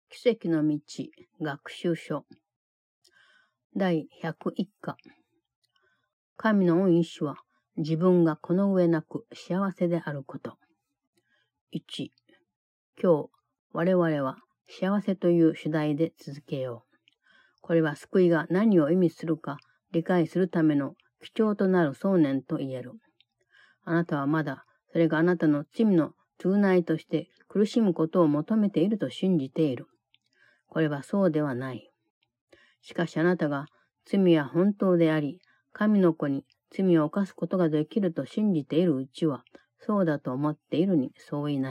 奇跡の道学習書第101課。神の御意志は自分がこの上なく幸せであること。1、今日我々は幸せという主題で続けよう。これは救いが何を意味するか理解するための基調となる想念と言える。あなたはまだそれがあなたの罪の償いとして苦しむことを求めていると信じている。これはそうではない。しかしあなたが罪は本当であり、神の子に罪を犯すことができると信じているうちは、そうだと思っているに相違ない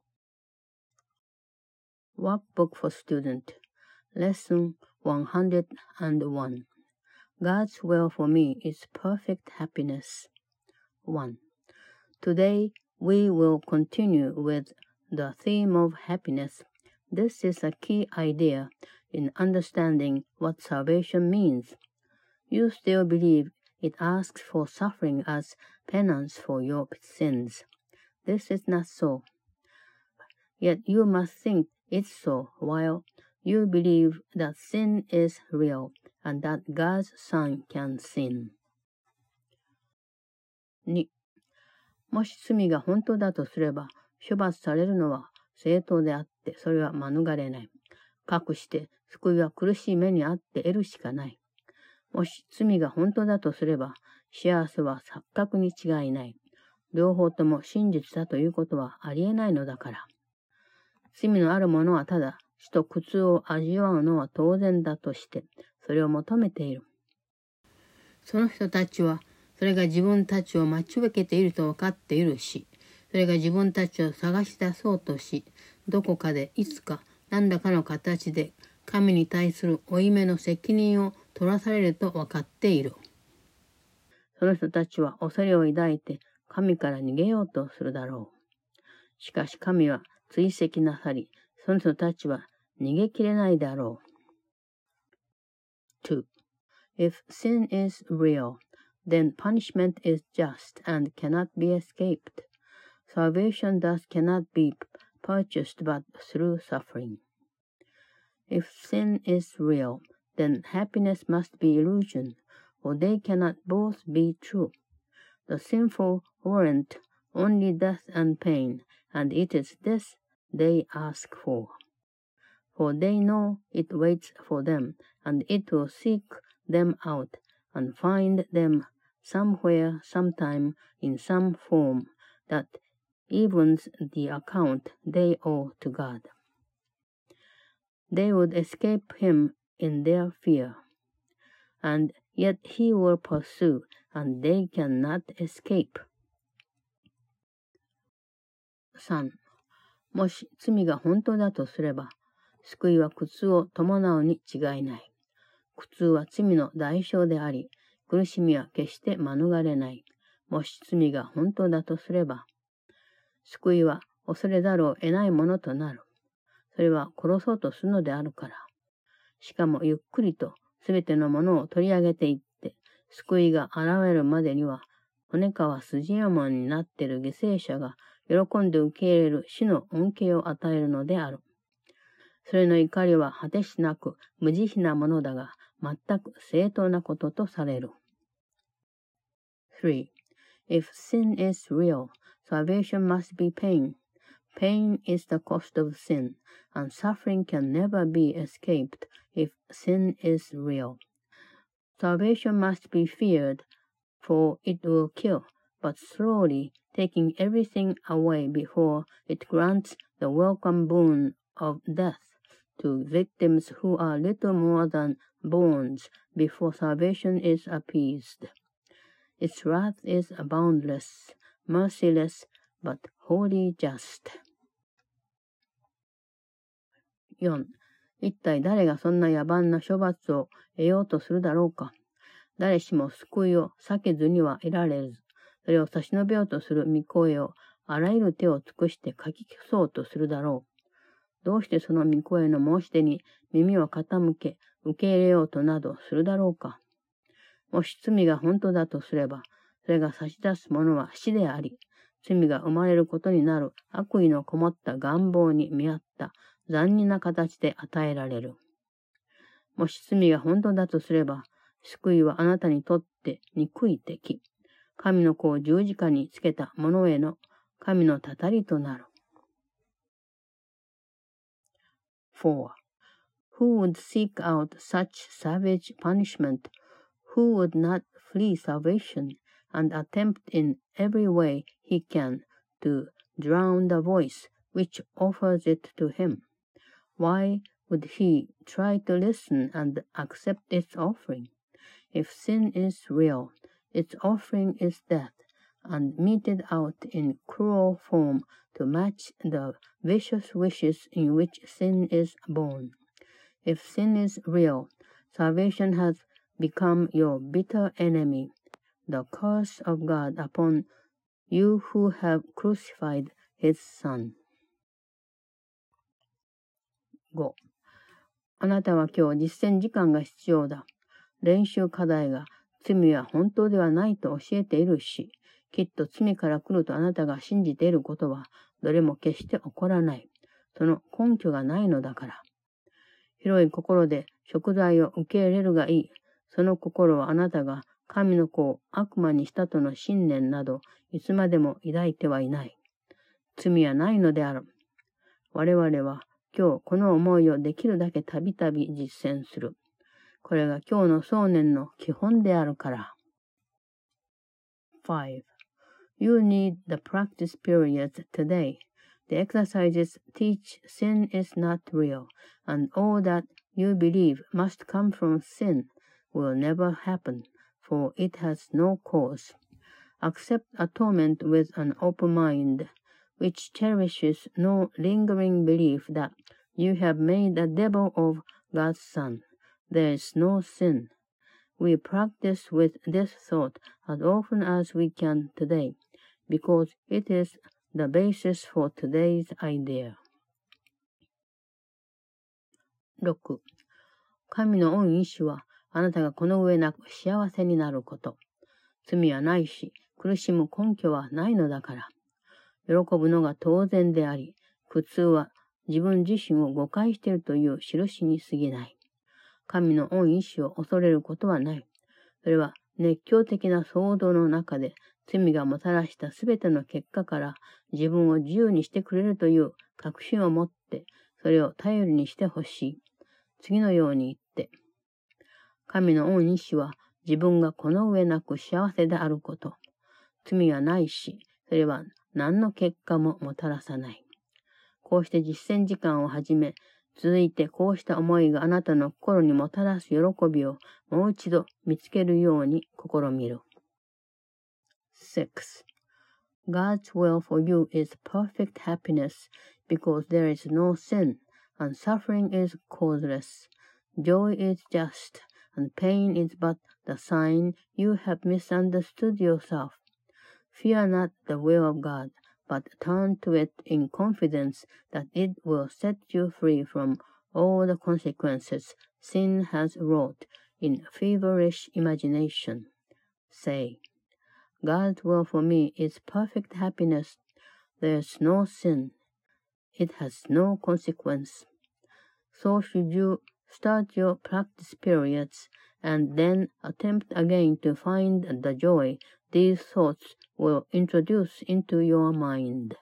。Workbook for Student Lesson 101 God's will for me is perfect happiness. 1. Today we will continue with the theme of happiness.This is a key idea in understanding what salvation means. You still believe it asks for suffering as penance for your sins. This is not so. Yet you must think it's so while you believe that sin is real and that God's Son can sin. 2. もし罪が本当だとすれば、処罰されるのは正当であって、それは免れない。かくして救いは苦しい目にあって得るしかない。もし罪が本当だとすれば、幸せは錯覚に違いない。両方とも真実だということはありえないのだから。罪のある者はただ死と苦痛を味わうのは当然だとして、それを求めている。その人たちは、それが自分たちを待ち受けていると分かっているし、それが自分たちを探し出そうとし、どこかでいつか何らかの形で神に対する負い目の責任を取らされると分かっている。その人たちは恐れを抱いて神から逃げようとするだろう。しかし神は追跡なさり、その人たちは逃げきれないだろう。2. If sin is real, then punishment is just and cannot be escaped.Salvation thus cannot be purchased but through suffering. If sin is real, then happiness must be illusion, for they cannot both be true. The sinful warrant only death and pain, and it is this they ask for. For they know it waits for them, and it will seek them out, and find them somewhere, sometime, in some form, that evens the account they owe to God. They would escape him in their fear, and yet he will pursue, and they cannot escape. 3. もし罪が本当だとすれば、救いは苦痛を伴うに違いない。苦痛は罪の代償であり、苦しみは決して免れない。もし罪が本当だとすれば、救いは恐れざるを得ないものとなる。それは殺そうとするのであるから。しかもゆっくりとすべてのものを取り上げていって、救いが現れるまでには、骨皮筋山になっている犠牲者が喜んで受け入れる死の恩恵を与えるのである。それの怒りは果てしなく無慈悲なものだが、全く正当なこととされる。3. If sin is real,Salvation must be pain. Pain is the cost of sin, and suffering can never be escaped if sin is real. Salvation must be feared, for it will kill, but slowly taking everything away before it grants the welcome boon of death to victims who are little more than bones before salvation is appeased. Its wrath is boundless, merciless, but wholly just. 4. 一体誰がそんな野蛮な処罰を得ようとするだろうか。誰しも救いを避けずにはいられず、それを差し伸べようとする御声をあらゆる手を尽くして書き消そうとするだろう。どうしてその御声の申し出に耳を傾け、受け入れようとなどするだろうか。もし罪が本当だとすれば、それが差し出すものは死であり、罪が生まれることになる悪意のこもった願望に見合っった残忍な形で与えられる。もし罪が本当だとすれば、救いはあなたにとって憎い敵。神の子を十字架につけた者への神のたたりとなる。4. Who would seek out such savage punishment? Who would not flee salvation and attempt in every way he can to drown the voice which offers it to him? Why would he try to listen and accept its offering? If sin is real, its offering is death, and meted out in cruel form to match the vicious wishes in which sin is born. If sin is real, salvation has become your bitter enemy, the curse of God upon you who have crucified his son. 5. あなたは今日実践時間が必要だ。練習課題が罪は本当ではないと教えているし、きっと罪から来るとあなたが信じていることはどれも決して起こらない。その根拠がないのだから。広い心で贖罪を受け入れるがいい。その心はあなたが神の子を悪魔にしたとの信念などいつまでも抱いてはいない。罪はないのである。我々は今日この思いをできるだけたびたび実践する。これが今日の想念の基本であるから。5. You need the practice periods today. The exercises teach sin is not real, and all that you believe must come from sin will never happen, for it has no cause. Accept atonement with an open mind, which cherishes no lingering belief that you have made a devil of God's Son. There is no sin. We practice with this thought as often as we can today, because it is the basis for today's idea. 6. 神の御意志はあなたがこの上なく幸せになること。罪はないし、苦しむ根拠はないのだから。喜ぶのが当然であり、苦痛は自分自身を誤解しているという印に過ぎない。神の御意志を恐れることはない。それは熱狂的な騒動の中で罪がもたらしたすべての結果から自分を自由にしてくれるという確信を持ってそれを頼りにしてほしい。次のように言って、神の御意志は自分がこの上なく幸せであること。罪はないし、それは何の結果ももたらさない。こうして実践時間を始め、続いてこうした思いがあなたの心にもたらす喜びをもう一度見つけるように試みる。6. God's will for you is perfect happiness because there is no sin, and suffering is causeless. Joy is just, and pain is but the sign you have misunderstood yourself. Fear not the will of God, but turn to it in confidence that it will set you free from all the consequences sin has wrought in feverish imagination. Say, God's will for me is perfect happiness. There is no sin. It has no consequence. So should you start your practice periods and then attempt again to find the joy these thoughts will introduce into your mind.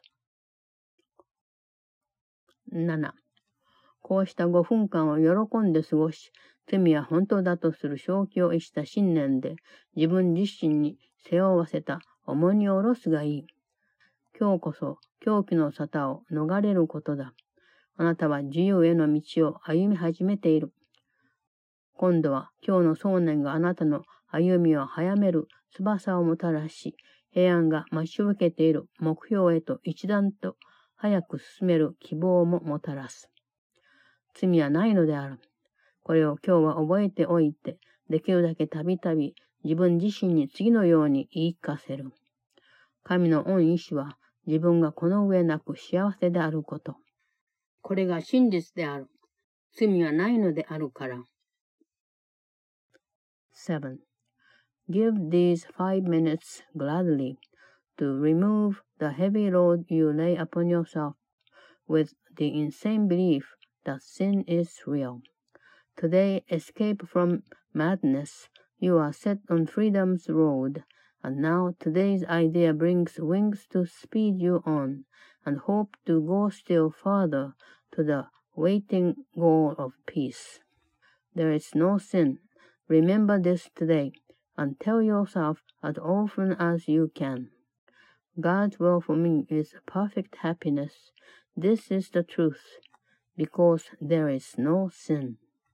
7. こうした5分間を喜んで過ごし、罪は本当だとする正気を逸した信念で自分自身に背負わせた重荷を下ろすがいい。今日こそ狂気の沙汰を逃れることだ。あなたは自由への道を歩み始めている。今度は今日の想念があなたの歩みを早める翼をもたらし、平安が待ち受けている目標へと一段と早く進める希望ももたらす。罪はないのである。これを今日は覚えておいて、できるだけたびたび自分自身に次のように言い聞かせる。神の御意志は自分がこの上なく幸せであること。これが真実である。罪はないのであるから。7. Give these 5 minutes gladly to remove the heavy load you lay upon yourself with the insane belief that sin is real. Today, escape from madness. You are set on freedom's road, and now today's idea brings wings to speed you on, and hope to go still further to the waiting goal of peace. There is no sin. Remember this today, and tell yourself as often as you can. God's will for me is perfect happiness. This is the truth, because there is no sin.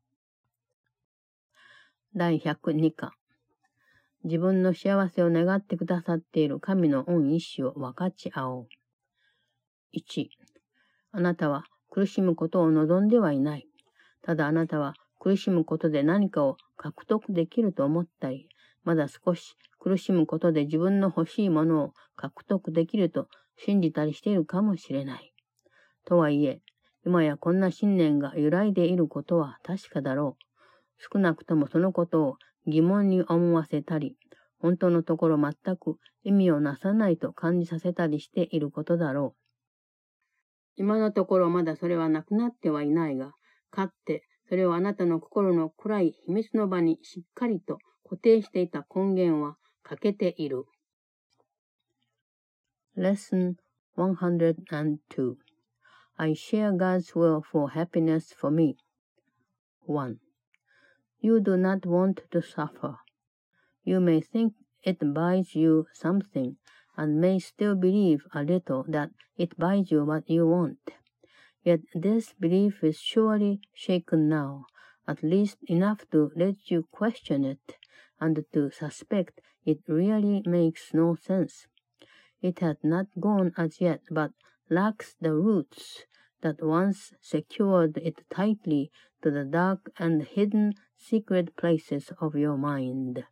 第102課。自分の幸せを願ってくださっている神の御意志を分かち合おう。1、あなたは苦しむことを望んではいない。ただあなたは苦しむことで何かを獲得できると思ったり、まだ少し苦しむことで自分の欲しいものを獲得できると信じたりしているかもしれない。とはいえ、今やこんな信念が揺らいでいることは確かだろう。少なくともそのことを疑問に思わせたり、本当のところ全く意味をなさないと感じさせたりしていることだろう。今のところまだそれはなくなってはいないが、かつてそれをあなたの心の暗い秘密の場にしっかりと固定していた根源は欠けている。Lesson 102 I share God's will for happiness for me. 1. You do not want to suffer. You may think it buys you something, and may still believe a little that it buys you what you want. Yet this belief is surely shaken now, at least enough to let you question it, and to suspect it really makes no sense. It has not gone as yet, but lacks the roots that once secured it tightly to the dark and hidden secret places of your mind.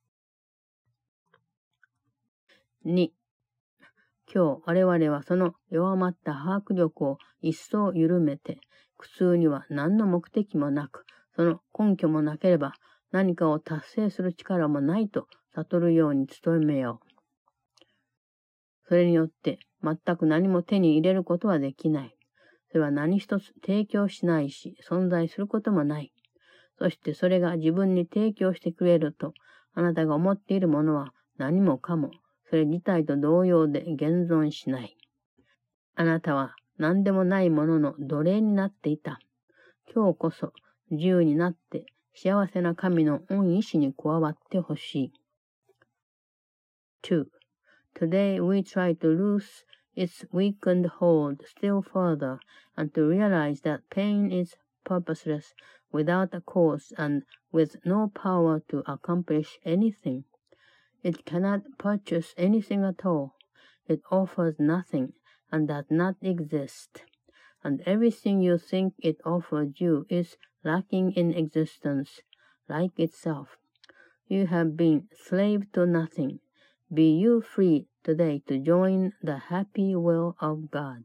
2. 今日我々はその弱まった把握力を一層緩めて、苦痛には何の目的もなく、その根拠もなければ何かを達成する力もないと悟るように努めよう。それによって全く何も手に入れることはできない。それは何一つ提供しないし、存在することもない。そしてそれが自分に提供してくれると、あなたが思っているものは何もかも、それ自体と同様で現存しない。あなたは何でもないものの奴隷になっていた。今日こそ自由になって幸せな神の御意志に加わってほしい。2. Today we try to lose its weakened hold still further, and to realize that pain is purposeless, without a cause, and with no power to accomplish anything. It cannot purchase anything at all. It offers nothing, and does not exist. And everything you think it offers you is lacking in existence, like itself. You have been slave to nothing. Be you free today to join the happy will of God.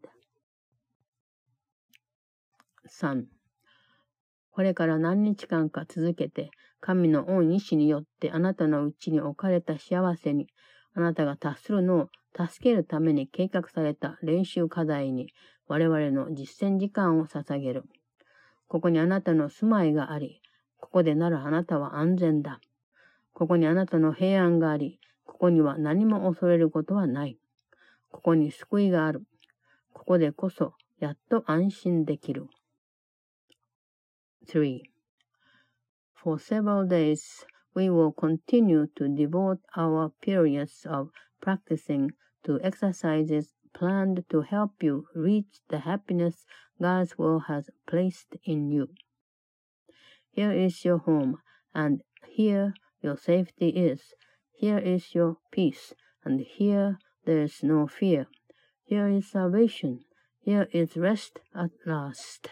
3. これから何日間か続けて、神の御意志によってあなたのうちに置かれた幸せに、あなたが達するのを助けるために計画された練習課題に、我々の実践時間を捧げる。ここにあなたの住まいがあり、ここでならあなたは安全だ。ここにあなたの平安があり、ここには何も恐れることはない。ここに救いがある。ここでこそやっと安心できる。3. For several days, we will continue to devote our periods of practicing to exercises planned to help you reach the happiness God's will has placed in you. Here is your home, and here your safety is. Here is your peace, and here there is no fear. Here is salvation. Here is rest at last.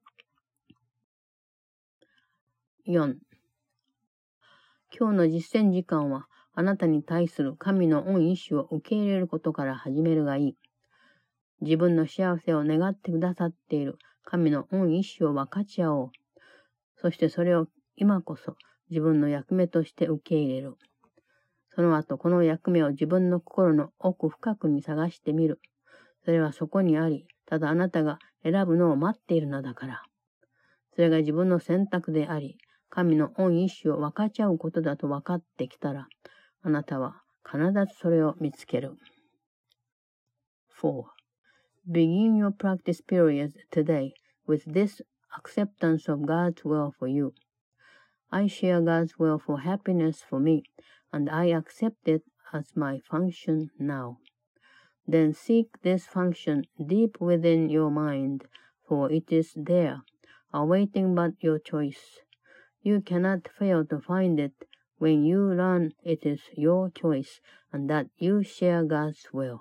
4. 今日の実践時間は、あなたに対する神の御意志を受け入れることから始めるがいい。自分の幸せを願ってくださっている神の御意志を分かち合おう。そしてそれを今こそ自分の役目として受け入れる。その後、この役目を自分の心の奥深くに探してみる。それはそこにあり、ただあなたが選ぶのを待っているのだから。それが自分の選択であり、神の御意志を分かち合うことだと分かってきたら、あなたは必ずそれを見つける。4. Begin your practice period today with this acceptance of God's will for you. I share God's will for happiness for me, and I accept it as my function now. Then seek this function deep within your mind, for it is there, awaiting but your choice. You cannot fail to find it when you learn it is your choice and that you share God's will.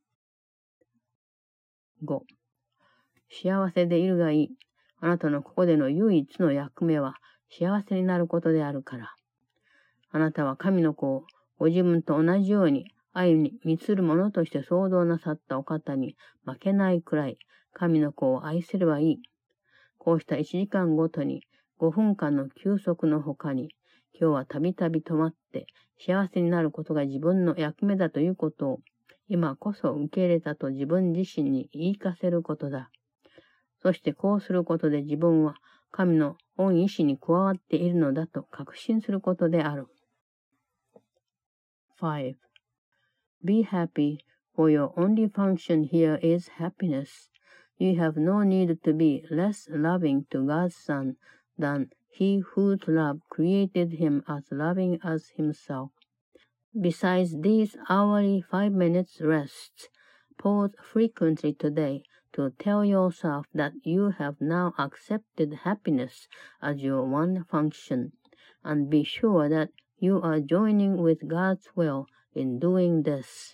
5. 幸せでいるがいい。あなたのここでの唯一の役目は幸せになることであるから。あなたは神の子をご自分と同じように愛に満ちるものとして創造なさったお方に負けないくらい神の子を愛すればいい。こうした1時間ごとに5分間の休息の他に、今日はたびたび止まって幸せになることが自分の役目だということを今こそ受け入れたと自分自身に言い聞かせることだ。そしてこうすることで自分は神の御意志に加わっているのだと確信することである。5. Be happy, for your only function here is happiness. You have no need to be less loving to God's Son than He whose love created Him as loving as Himself. Besides these hourly 5 minutes rests, pause frequently today to tell yourself that you have now accepted happiness as your one function, and be sure that you are joining with God's will in doing this.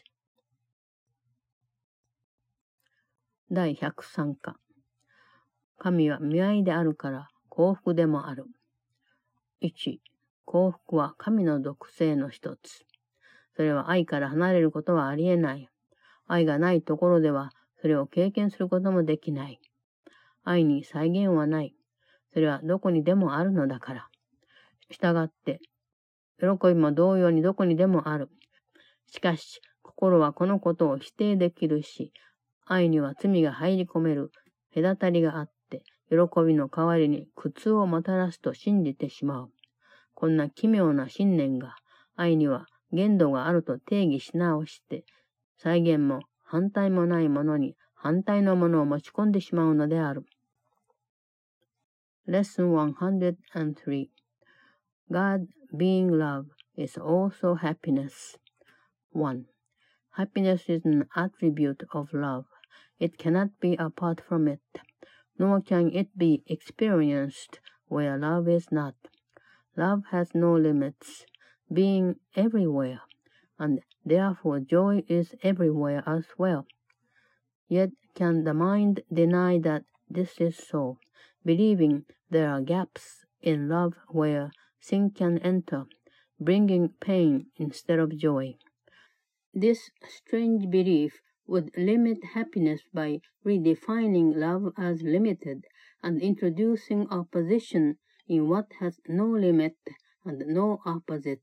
第103課。神は御愛であるから幸福でもある。1. 幸福は神の独性の一つ。それは愛から離れることはありえない。愛がないところではそれを経験することもできない。愛に際限はない。それはどこにでもあるのだから。したがって、喜びも同様にどこにでもある。しかし、心はこのことを否定できるし、愛には罪が入り込める隔たりがあって、喜びの代わりに苦痛をもたらすと信じてしまう。こんな奇妙な信念が、愛には限度があると定義し直して、際限も反対もないものに反対のものを持ち込んでしまうのである。Lesson 103 God being love is also happiness. 1. Happiness is an attribute of love. It cannot be apart from it, nor can it be experienced where love is not. Love has no limits, being everywhere, and therefore joy is everywhere as well. Yet can the mind deny that this is so, believing there are gaps in love where sin can enter, bringing pain instead of joy. This strange belief would limit happiness by redefining love as limited and introducing opposition in what has no limit and no opposite.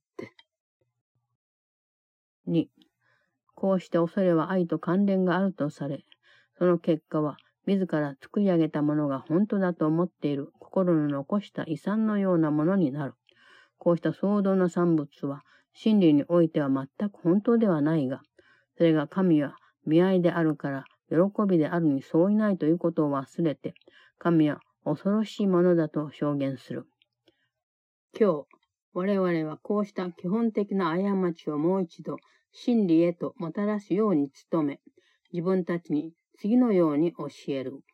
2. こうして恐れは愛と関連があるとされ、その結果は自ら作り上げたものが本当だと思っている心の残した遺産のようなものになる。こうした創造の産物は真理においては全く本当ではないが、それが神は御愛であるから喜びであるに相違ないということを忘れて、神は恐ろしいものだと証言する。今日、我々はこうした基本的な過ちをもう一度真理へともたらすように努め、自分たちに次のように教える。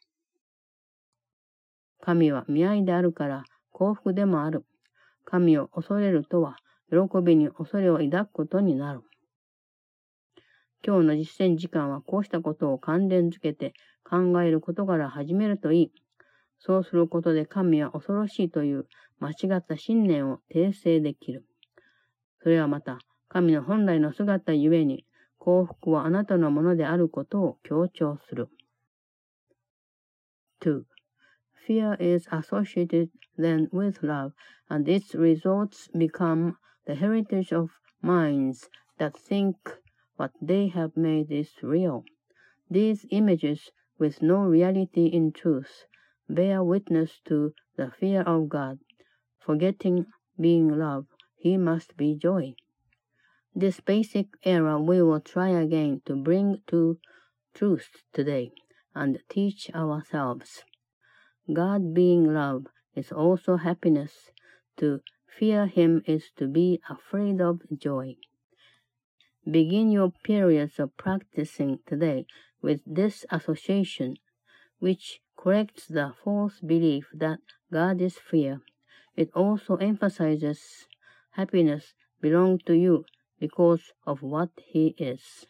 神は御愛であるから幸福でもある。神を恐れるとは、喜びに恐れを抱くことになる。今日の実践時間はこうしたことを関連づけて考えることから始めるといい。そうすることで神は恐ろしいという間違った信念を訂正できる。それはまた、神の本来の姿ゆえに、幸福はあなたのものであることを強調する。2. Fear is associated then with love, and its results become the heritage of minds that think what they have made is real. These images with no reality in truth, bear witness to the fear of God. Forgetting being love, he must be joy. This basic error we will try again to bring to truth today and teach ourselves. God being love is also happiness. To fear him is to be afraid of joy. Begin your periods of practicing today with this association, which corrects the false belief that God is fear. It also emphasizes happiness belongs to you because of what he is.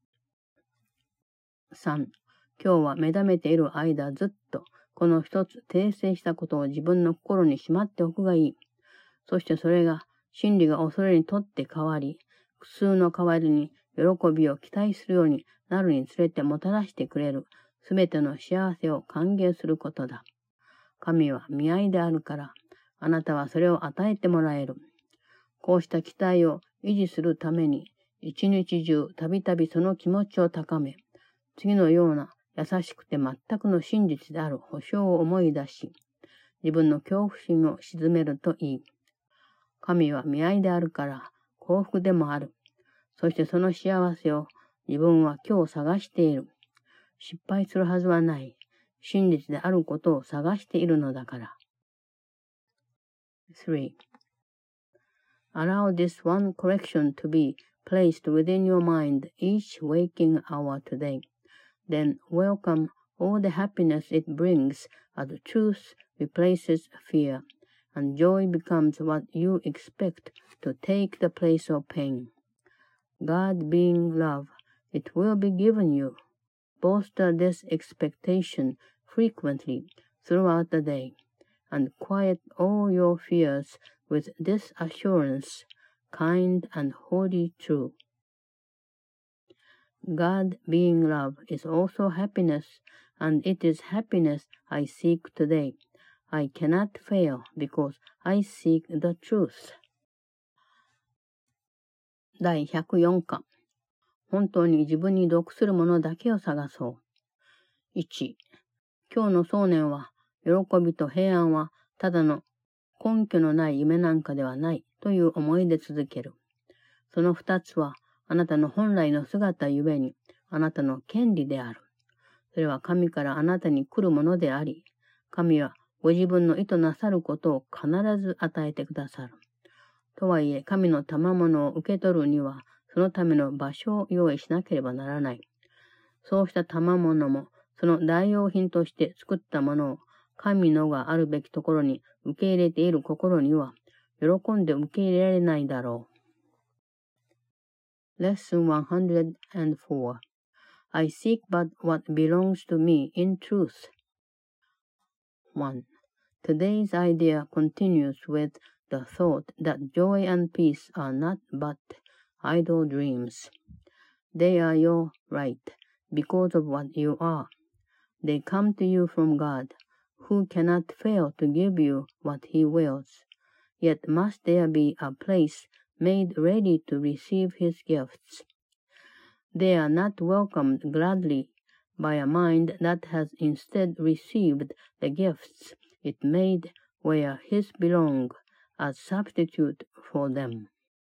3. 今日は目覚めている間ずっとこの一つ訂正したことを自分の心にしまっておくがいい。そしてそれが真理が恐れにとって変わり、苦痛の代わりに喜びを期待するようになるにつれてもたらしてくれるすべての幸せを歓迎することだ。神は見合いであるから、あなたはそれを与えてもらえる。こうした期待を維持するために、一日中たびたびその気持ちを高め、次のような優しくて全くの真実である保証を思い出し、自分の恐怖心を鎮めるといい。神は見合いであるから幸福でもある。そしてその幸せを自分は今日探している。失敗するはずはない。真実であることを探しているのだから。3. Allow this one correction to be placed within your mind each waking hour today. Then welcome all the happiness it brings as truth replaces fear, and joy becomes what you expect to take the place of pain. God being love, it will be given you. Bolster this expectation frequently throughout the day, and quiet all your fears with this assurance, kind and wholly true. God being love is also happiness, and it is happiness I seek today. I cannot fail because I seek the truth. 第104課。本当に自分に属するものだけを探そう。1. 今日の想念は、喜びと平安はただの根拠のない夢なんかではないという思いで続ける。その2つは、あなたの本来の姿ゆえに、あなたの権利である。それは神からあなたに来るものであり、神はご自分の意図なさることを必ず与えてくださる。とはいえ、神の賜物を受け取るには、そのための場所を用意しなければならない。そうした賜物も、その代用品として作ったものを、神のがあるべきところに受け入れている心には、喜んで受け入れられないだろう。Lesson 104 I seek but what belongs to me in truth. 1. Today's idea continues with the thought that joy and peace are not but idle dreams. They are your right because of what you are. They come to you from God, who cannot fail to give you what he wills. Yet must there be a place made ready to receive his gifts. They are not welcomed gladly by a mind that has instead received the gifts it made where his belong as substitute for them.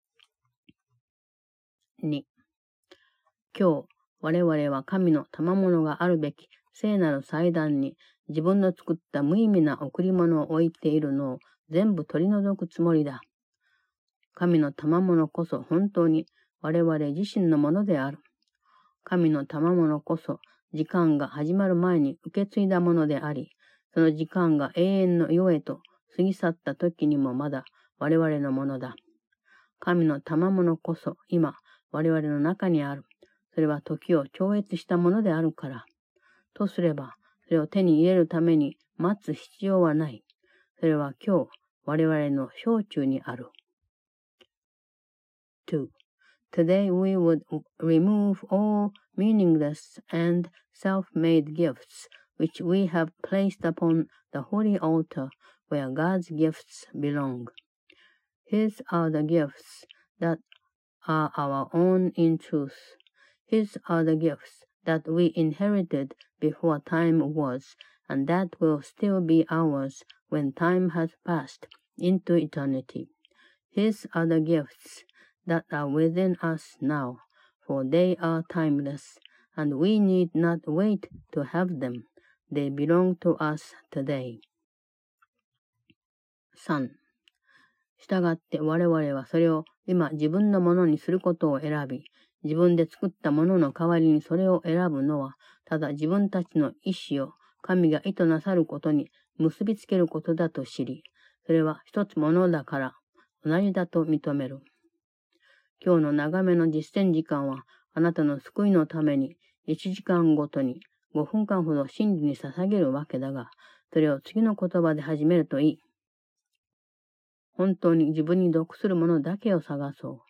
2. 今日、我々は神の賜物があるべき聖なる祭壇に自分の作った無意味な贈り物を置いているのを全部取り除くつもりだ。神の賜物こそ本当に我々自身のものである。神の賜物こそ時間が始まる前に受け継いだものであり、その時間が永遠の世へと過ぎ去った時にもまだ我々のものだ。神の賜物こそ今我々の中にある。それは時を超越したものであるから。とすれば、それを手に入れるために待つ必要はない。それは今日我々の掌中にある。2. Today we would remove all meaningless and self-made gifts which we have placed upon the holy altar where God's gifts belong. His are the gifts that are our own in truth. His are the gifts that we inherited before time was, and that will still be ours when time has passed into eternity. His are the gifts that are within us now, for they are timeless, and we need not wait to have them. They belong to us today. 3. したがって我々はそれを今自分のものにすることを選び、自分で作ったものの代わりにそれを選ぶのは、ただ自分たちの意志を神が意図なさることに結びつけることだと知り、それは一つものだから同じだと認める。今日の長めの実践時間は、あなたの救いのために1時間ごとに5分間ほど真理に捧げるわけだが、それを次の言葉で始めるといい。本当に自分に属するものだけを探そう。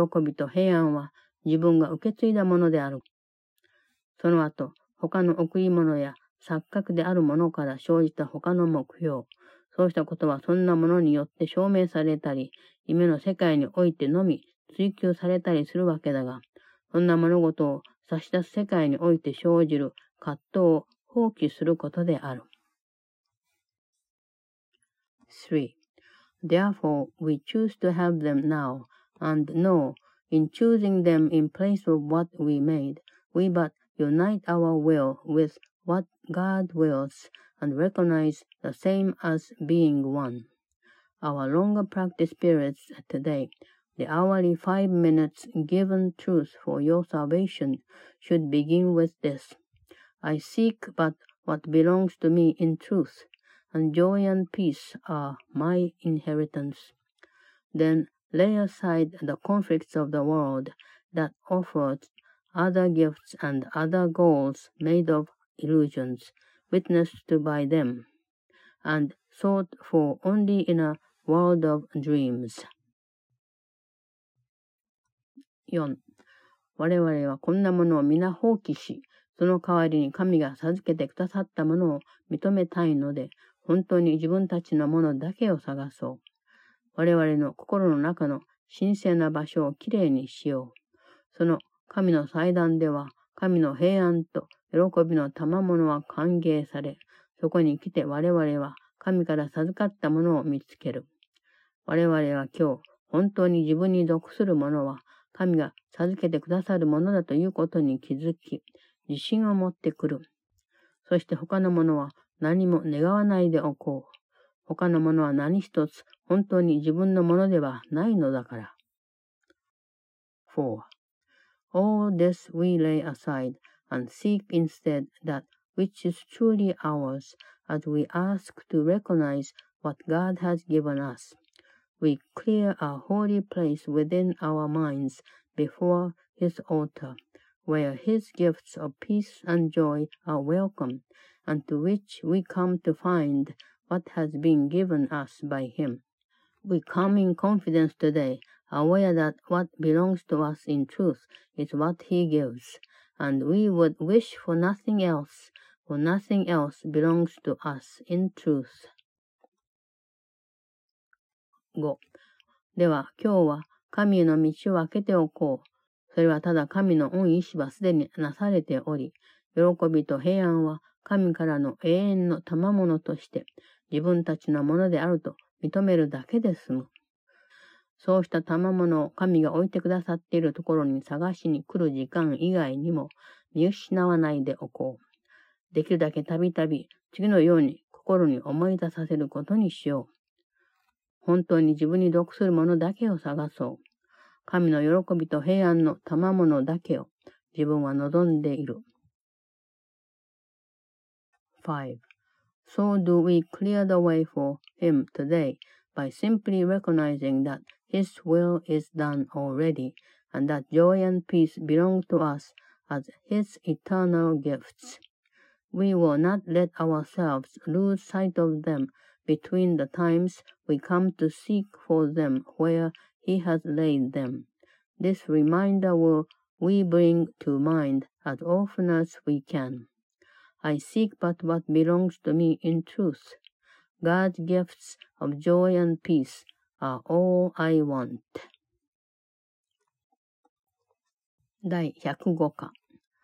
喜びと平安は自分が受け継いだものである。その後、他の贈り物や錯覚であるものから生じた他の目標。そうしたことはそんなものによって証明されたり、夢の世界においてのみ追求されたりするわけだが、そんな物事を差し出す世界において生じる葛藤を放棄することである。3.Therefore, we choose to have them now, and know, in choosing them in place of what we made, we but unite our will with what God wills, and recognize the same as being one. Our longer practice periods today, the hourly 5 minutes given truth for your salvation, should begin with this. I seek but what belongs to me in truth.And joy and peace are my inheritance. Then lay aside the conflicts of the world that offers other gifts and other goals made of illusions, witnessed to by them, and sought for only in a world of dreams. 4. 我々はこんなものを皆放棄し、その代わりに神が授けてくださったものを認めたいので、本当に自分たちのものだけを探そう。我々の心の中の神聖な場所をきれいにしよう。その神の祭壇では、神の平安と喜びの賜物は歓迎され、そこに来て我々は神から授かったものを見つける。我々は今日、本当に自分に属するものは、神が授けてくださるものだということに気づき、自信を持ってくる。そして他のものは、何も願わないでおこう。他のものは何一つ本当に自分のものではないのだから。4. All this we lay aside and seek instead that which is truly ours, as we ask to recognize what God has given us. We clear a holy place within our minds before His altar, where His gifts of peace and joy are welcome.and to which we come to find what has been given us by Him. We come in confidence today, aware that what belongs to us in truth is what He gives, and we would wish for nothing else, for nothing else belongs to us in truth. 5. では今日は神への道を開けておこう。それはただ神の御意志はすでになされており、喜びと平安は神からの永遠の賜物として自分たちのものであると認めるだけで済む。そうした賜物を神が置いてくださっているところに探しに来る時間以外にも見失わないでおこう。できるだけたびたび次のように心に思い出させることにしよう。本当に自分に属するものだけを探そう。神の喜びと平安の賜物だけを自分は望んでいる。5. So do we clear the way for Him today by simply recognizing that His will is done already and that joy and peace belong to us as His eternal gifts. We will not let ourselves lose sight of them between the times we come to seek for them where He has laid them. This reminder will we bring to mind as often as we can.I seek but what belongs to me in truth. God's gifts of joy and peace are all I want. 第105課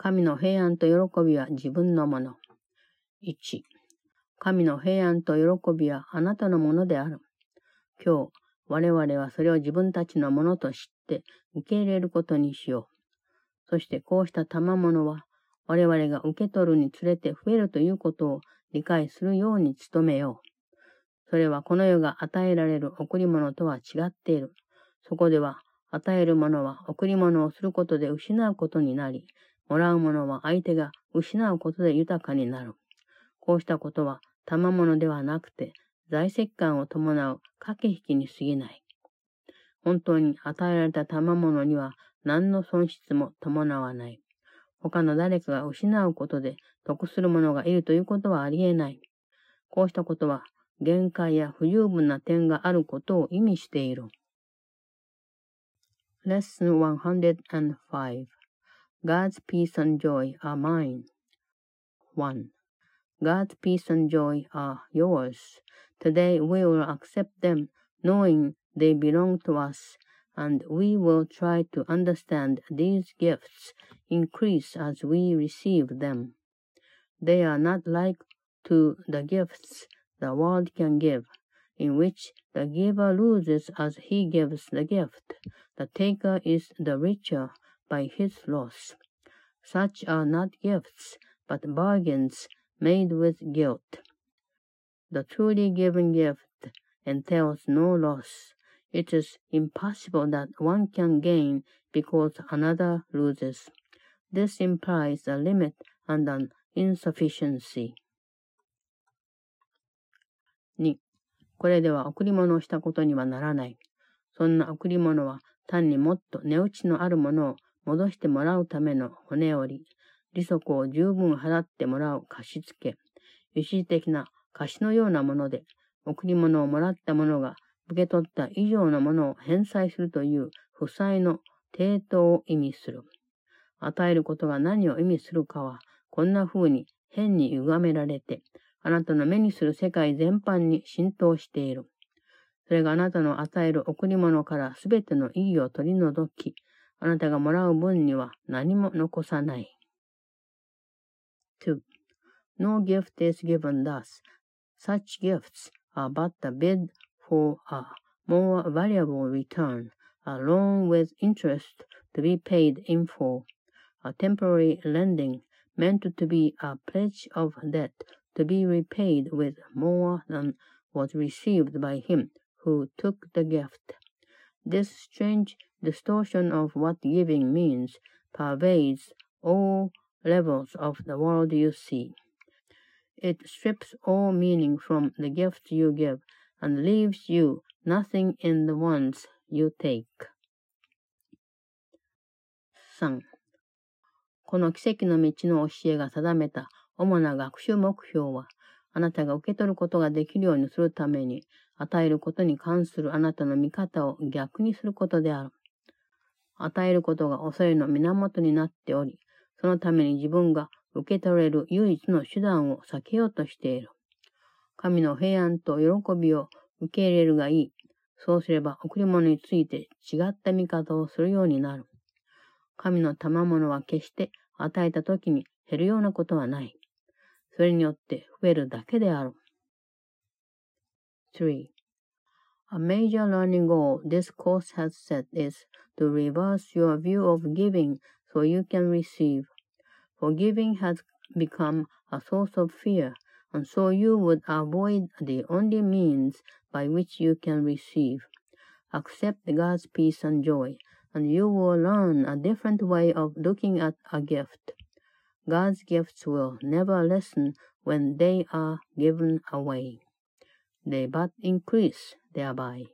神の平安と喜びは自分のもの。1、神の平安と喜びはあなたのものである。今日、我々はそれを自分たちのものと知って受け入れることにしよう。そしてこうした賜物は、我々が受け取るにつれて増えるということを理解するように努めよう。それはこの世が与えられる贈り物とは違っている。そこでは、与えるものは贈り物をすることで失うことになり、もらうものは相手が失うことで豊かになる。こうしたことは賜物ではなくて、財石感を伴う駆け引きに過ぎない。本当に与えられた賜物には何の損失も伴わない。他の誰かが失うことで得する者がいるということはありえない。こうしたことは限界や不十分な点があることを意味している。Lesson 105 God's peace and joy are mine. 1. God's peace and joy are yours. Today we will accept them, knowing they belong to us, and we will try to understand these gifts increase as we receive them. They are not like to the gifts the world can give, in which the giver loses as he gives the gift. The taker is the richer by his loss. Such are not gifts, but bargains made with guilt. The truly given gift entails no loss. It is impossible that one can gain because another loses. This implies a limit and an insufficiency. 2. これでは贈り物をしたことにはならない。そんな贈り物は単にもっと値打ちのあるものを戻してもらうための骨折り、利息を十分払ってもらう貸し付け、一時的な貸しのようなもので、贈り物をもらった者が受け取った以上のものを返済するという負債の抵当を意味する。与えることが何を意味するかは、こんな風に変に歪められて、あなたの目にする世界全般に浸透している。それがあなたの与える贈り物からすべての意義を取り除き、あなたがもらう分には何も残さない。2. No gift is given thus. Such gifts are but a bid for a more valuable return, a loan with interest to be paid in full, a temporary lending meant to be a pledge of debt to be repaid with more than was received by him who took the gift. This strange distortion of what giving means pervades all levels of the world you see. It strips all meaning from the gifts you give and leaves you nothing in the ones you take. 3. この奇跡の道の教えが定めた主な学習目標は、あなたが受け取ることができるようにするために、与えることに関するあなたの見方を逆にすることである。与えることが恐れの源になっており、そのために自分が受け取れる唯一の手段を避けようとしている。神の平安と喜びを受け入れるがいい。そうすれば贈り物について違った見方をするようになる。神の賜物は決して与えたときに減るようなことはない。それによって増えるだけである。3. A major learning goal this course has set is to reverse your view of giving so you can receive. For giving has become a source of fear, and so you would avoid the only means by which you can receive. Accept God's peace and joy, and you will learn a different way of looking at a gift. God's gifts will never lessen when they are given away. They but increase thereby.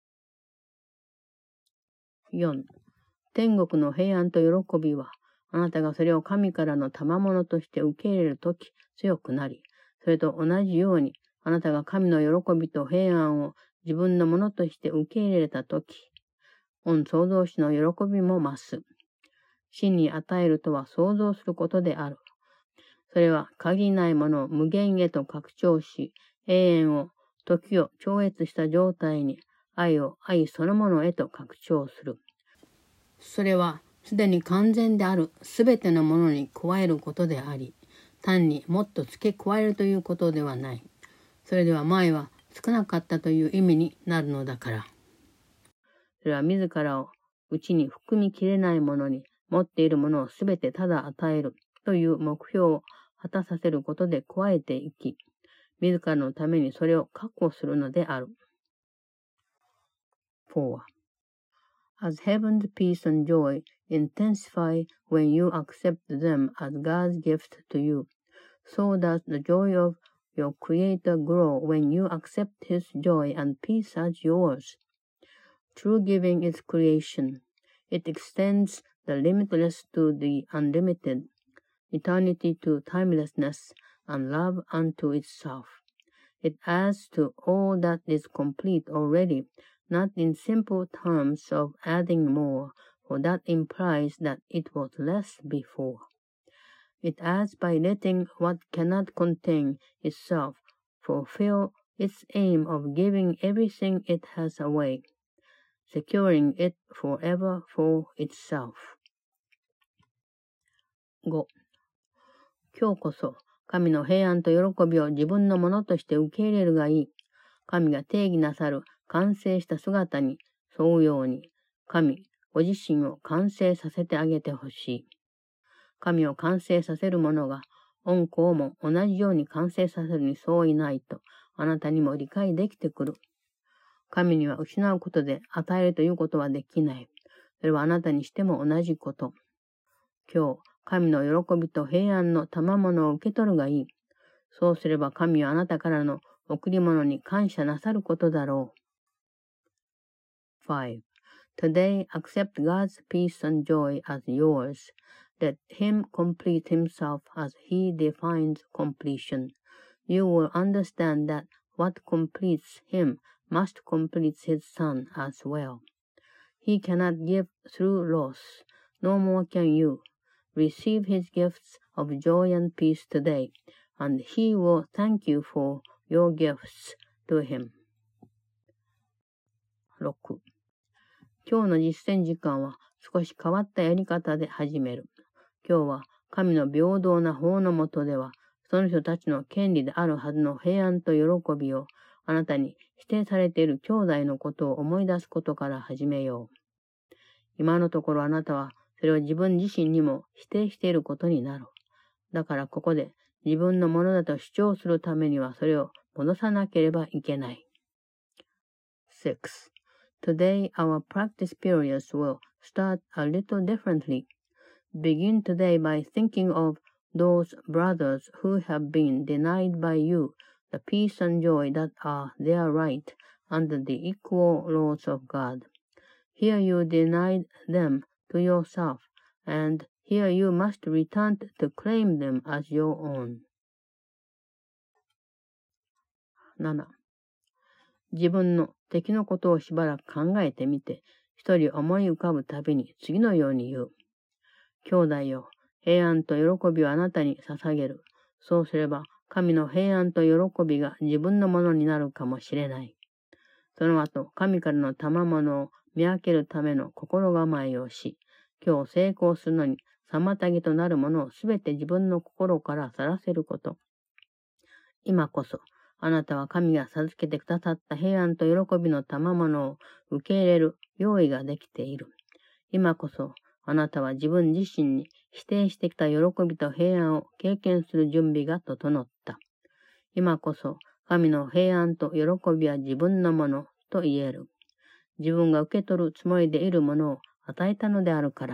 4. 天国の平安と喜びは、あなたがそれを神からの賜物として受け入れるとき強くなり、それと同じように、あなたが神の喜びと平安を自分のものとして受け入れたとき、御創造主の喜びも増す。真に与えるとは創造することである。それは限りないものを無限へと拡張し、永遠を、時を超越した状態に、愛を愛そのものへと拡張する。それはすでに完全であるすべてのものに加えることであり、単にもっと付け加えるということではない。それでは前は少なかったという意味になるのだから。それは自らを内に含みきれないものに持っているものをすべてただ与えるという目標を果たさせることで加えていき、自らのためにそれを確保するのである。4. As heaven's peace and joy intensify when you accept them as God's gift to you, so does the joy of your Creator grow when you accept His joy and peace as yours. True giving is creation. It extends the limitless to the unlimited, eternity to timelessness, and love unto itself. It adds to all that is complete already, not in simple terms of adding more, for that implies that it was less before. It adds by letting what cannot contain itself fulfill its aim of giving everything it has away, securing it forever for itself. 5. 今日こそ神の平安と喜びを自分のものとして受け入れるがいい。神が定義なさる完成した姿に沿うように、神ご自身を完成させてあげてほしい。神を完成させる者が、御子をも同じように完成させるにそういないと、あなたにも理解できてくる。神には失うことで与えるということはできない。それはあなたにしても同じこと。今日、神の喜びと平安の賜物を受け取るがいい。そうすれば神はあなたからの贈り物に感謝なさることだろう。5. Today accept God's peace and joy as yours. Let Him complete Himself as He defines completion. You will understand that what completes Him must complete His Son as well. He cannot give through loss, no more can you. Receive His gifts of joy and peace today, and He will thank you for your gifts to Him. 6. 今日の実践時間は少し変わったやり方で始める。今日は神の平等な法の下では、その人たちの権利であるはずの平安と喜びをあなたに否定されている兄弟のことを思い出すことから始めよう。今のところあなたはそれを自分自身にも否定していることになる。だからここで自分のものだと主張するためにはそれを戻さなければいけない。6. Today our practice periods will start a little differently. Begin today by thinking of those brothers who have been denied by you the peace and joy that are their right under the equal laws of God. Here you denied them to yourself, and here you must return to claim them as your own. 7. 自分の敵のことをしばらく考えてみて、一人思い浮かぶたびに次のように言う。兄弟よ、平安と喜びをあなたに捧げる。そうすれば、神の平安と喜びが自分のものになるかもしれない。その後、神からの賜物を見分けるための心構えをし、今日成功するのに妨げとなるものをすべて自分の心から去らせること。今こそ、あなたは神が授けてくださった平安と喜びの賜物を受け入れる用意ができている。今こそ、あなたは自分自身に否定してきた喜びと平安を経験する準備が整った。今こそ、神の平安と喜びは自分のものと言える。自分が受け取るつもりでいるものを与えたのであるから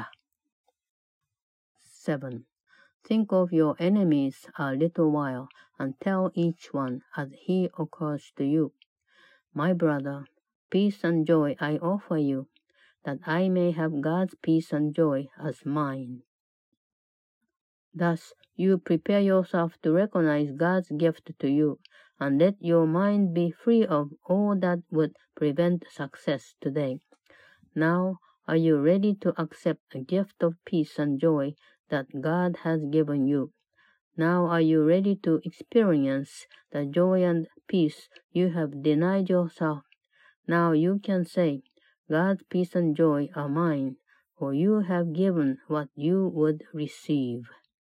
。7. Think of your enemies a little while and tell each one as he occurs to you. My brother, peace and joy I offer you, that I may have God's peace and joy as mine. Thus, you prepare yourself to recognize God's gift to you, and let your mind be free of all that would prevent success today. Now, are you ready to accept a gift of peace and joy that God has given you? Now are you ready to experience the joy and peace you have denied yourself? Now you can say, God's peace and joy are mine, for you have given what you would receive.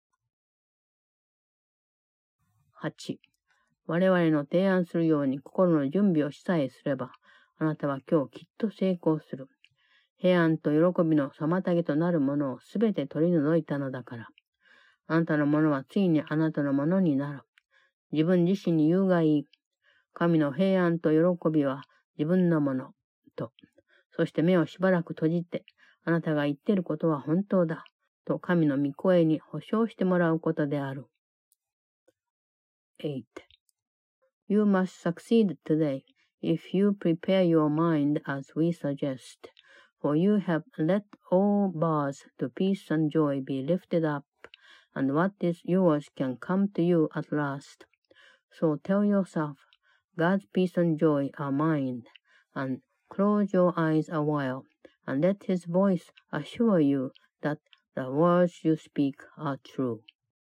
8. 我々の提案するように心の準備をしさえすれば、あなたは今日きっと成功する。平安と喜びの妨げとなるものをすべて取り除いたのだから。あなたのものはついにあなたのものになる。自分自身に言うがいい。神の平安と喜びは自分のものと。そして目をしばらく閉じて、あなたが言っていることは本当だ。と神の御声に保証してもらうことである。8. You must succeed today if you prepare your mind as we suggest, for you have let all bars to peace and joy be lifted up, and what is yours can come to you at last. So tell yourself, God's peace and joy are mine, and close your eyes a while, and let His voice assure you that the words you speak are true.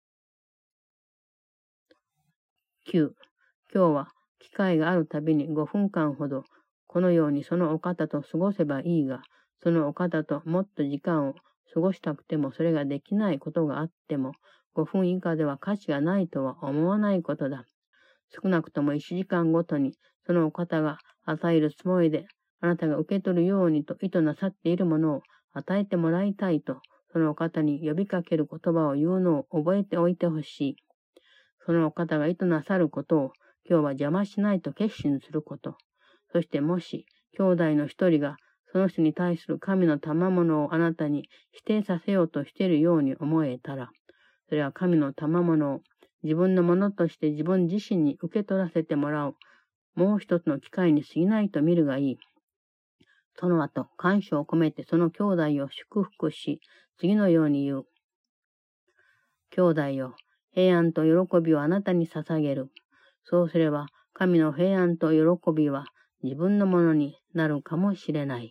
9. 今日は機会があるたびに5分間ほどこのようにそのお方と過ごせばいいが、そのお方ともっと時間を過ごしたくてもそれができないことがあっても5分以下では価値がないとは思わないことだ。少なくとも1時間ごとにそのお方が与えるつもりであなたが受け取るようにと意図なさっているものを与えてもらいたいとそのお方に呼びかける言葉を言うのを覚えておいてほしい。そのお方が意図なさることを今日は邪魔しないと決心すること。そしてもし兄弟の一人がその人に対する神の賜物をあなたに否定させようとしているように思えたら、それは神の賜物を自分のものとして自分自身に受け取らせてもらうもう一つの機会に過ぎないと見るがいい。その後、感謝を込めてその兄弟を祝福し、次のように言う。兄弟よ、平安と喜びをあなたに捧げる。そうすれば、神の平安と喜びは自分のものになるかもしれない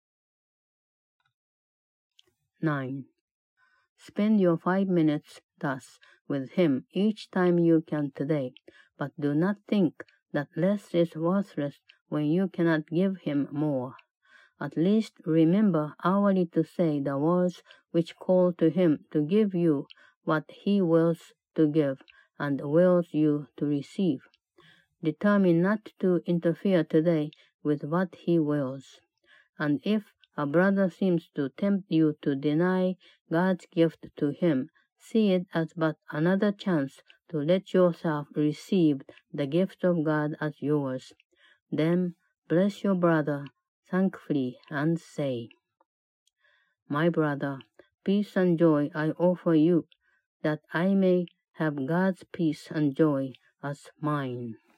。9. Spend your 5 minutes thus with him each time you can today, but do not think that less is worthless when you cannot give him more. At least remember hourly to say the words which call to him to give you what he wills to give and wills you to receive. Determine not to interfere today with what he wills. And if a brother seems to tempt you to deny God's gift to him, see it as but another chance to let yourself receive the gift of God as yours. Then bless your brother thankfully and say, My brother, peace and joy I offer you, that I may have God's peace and joy as mine.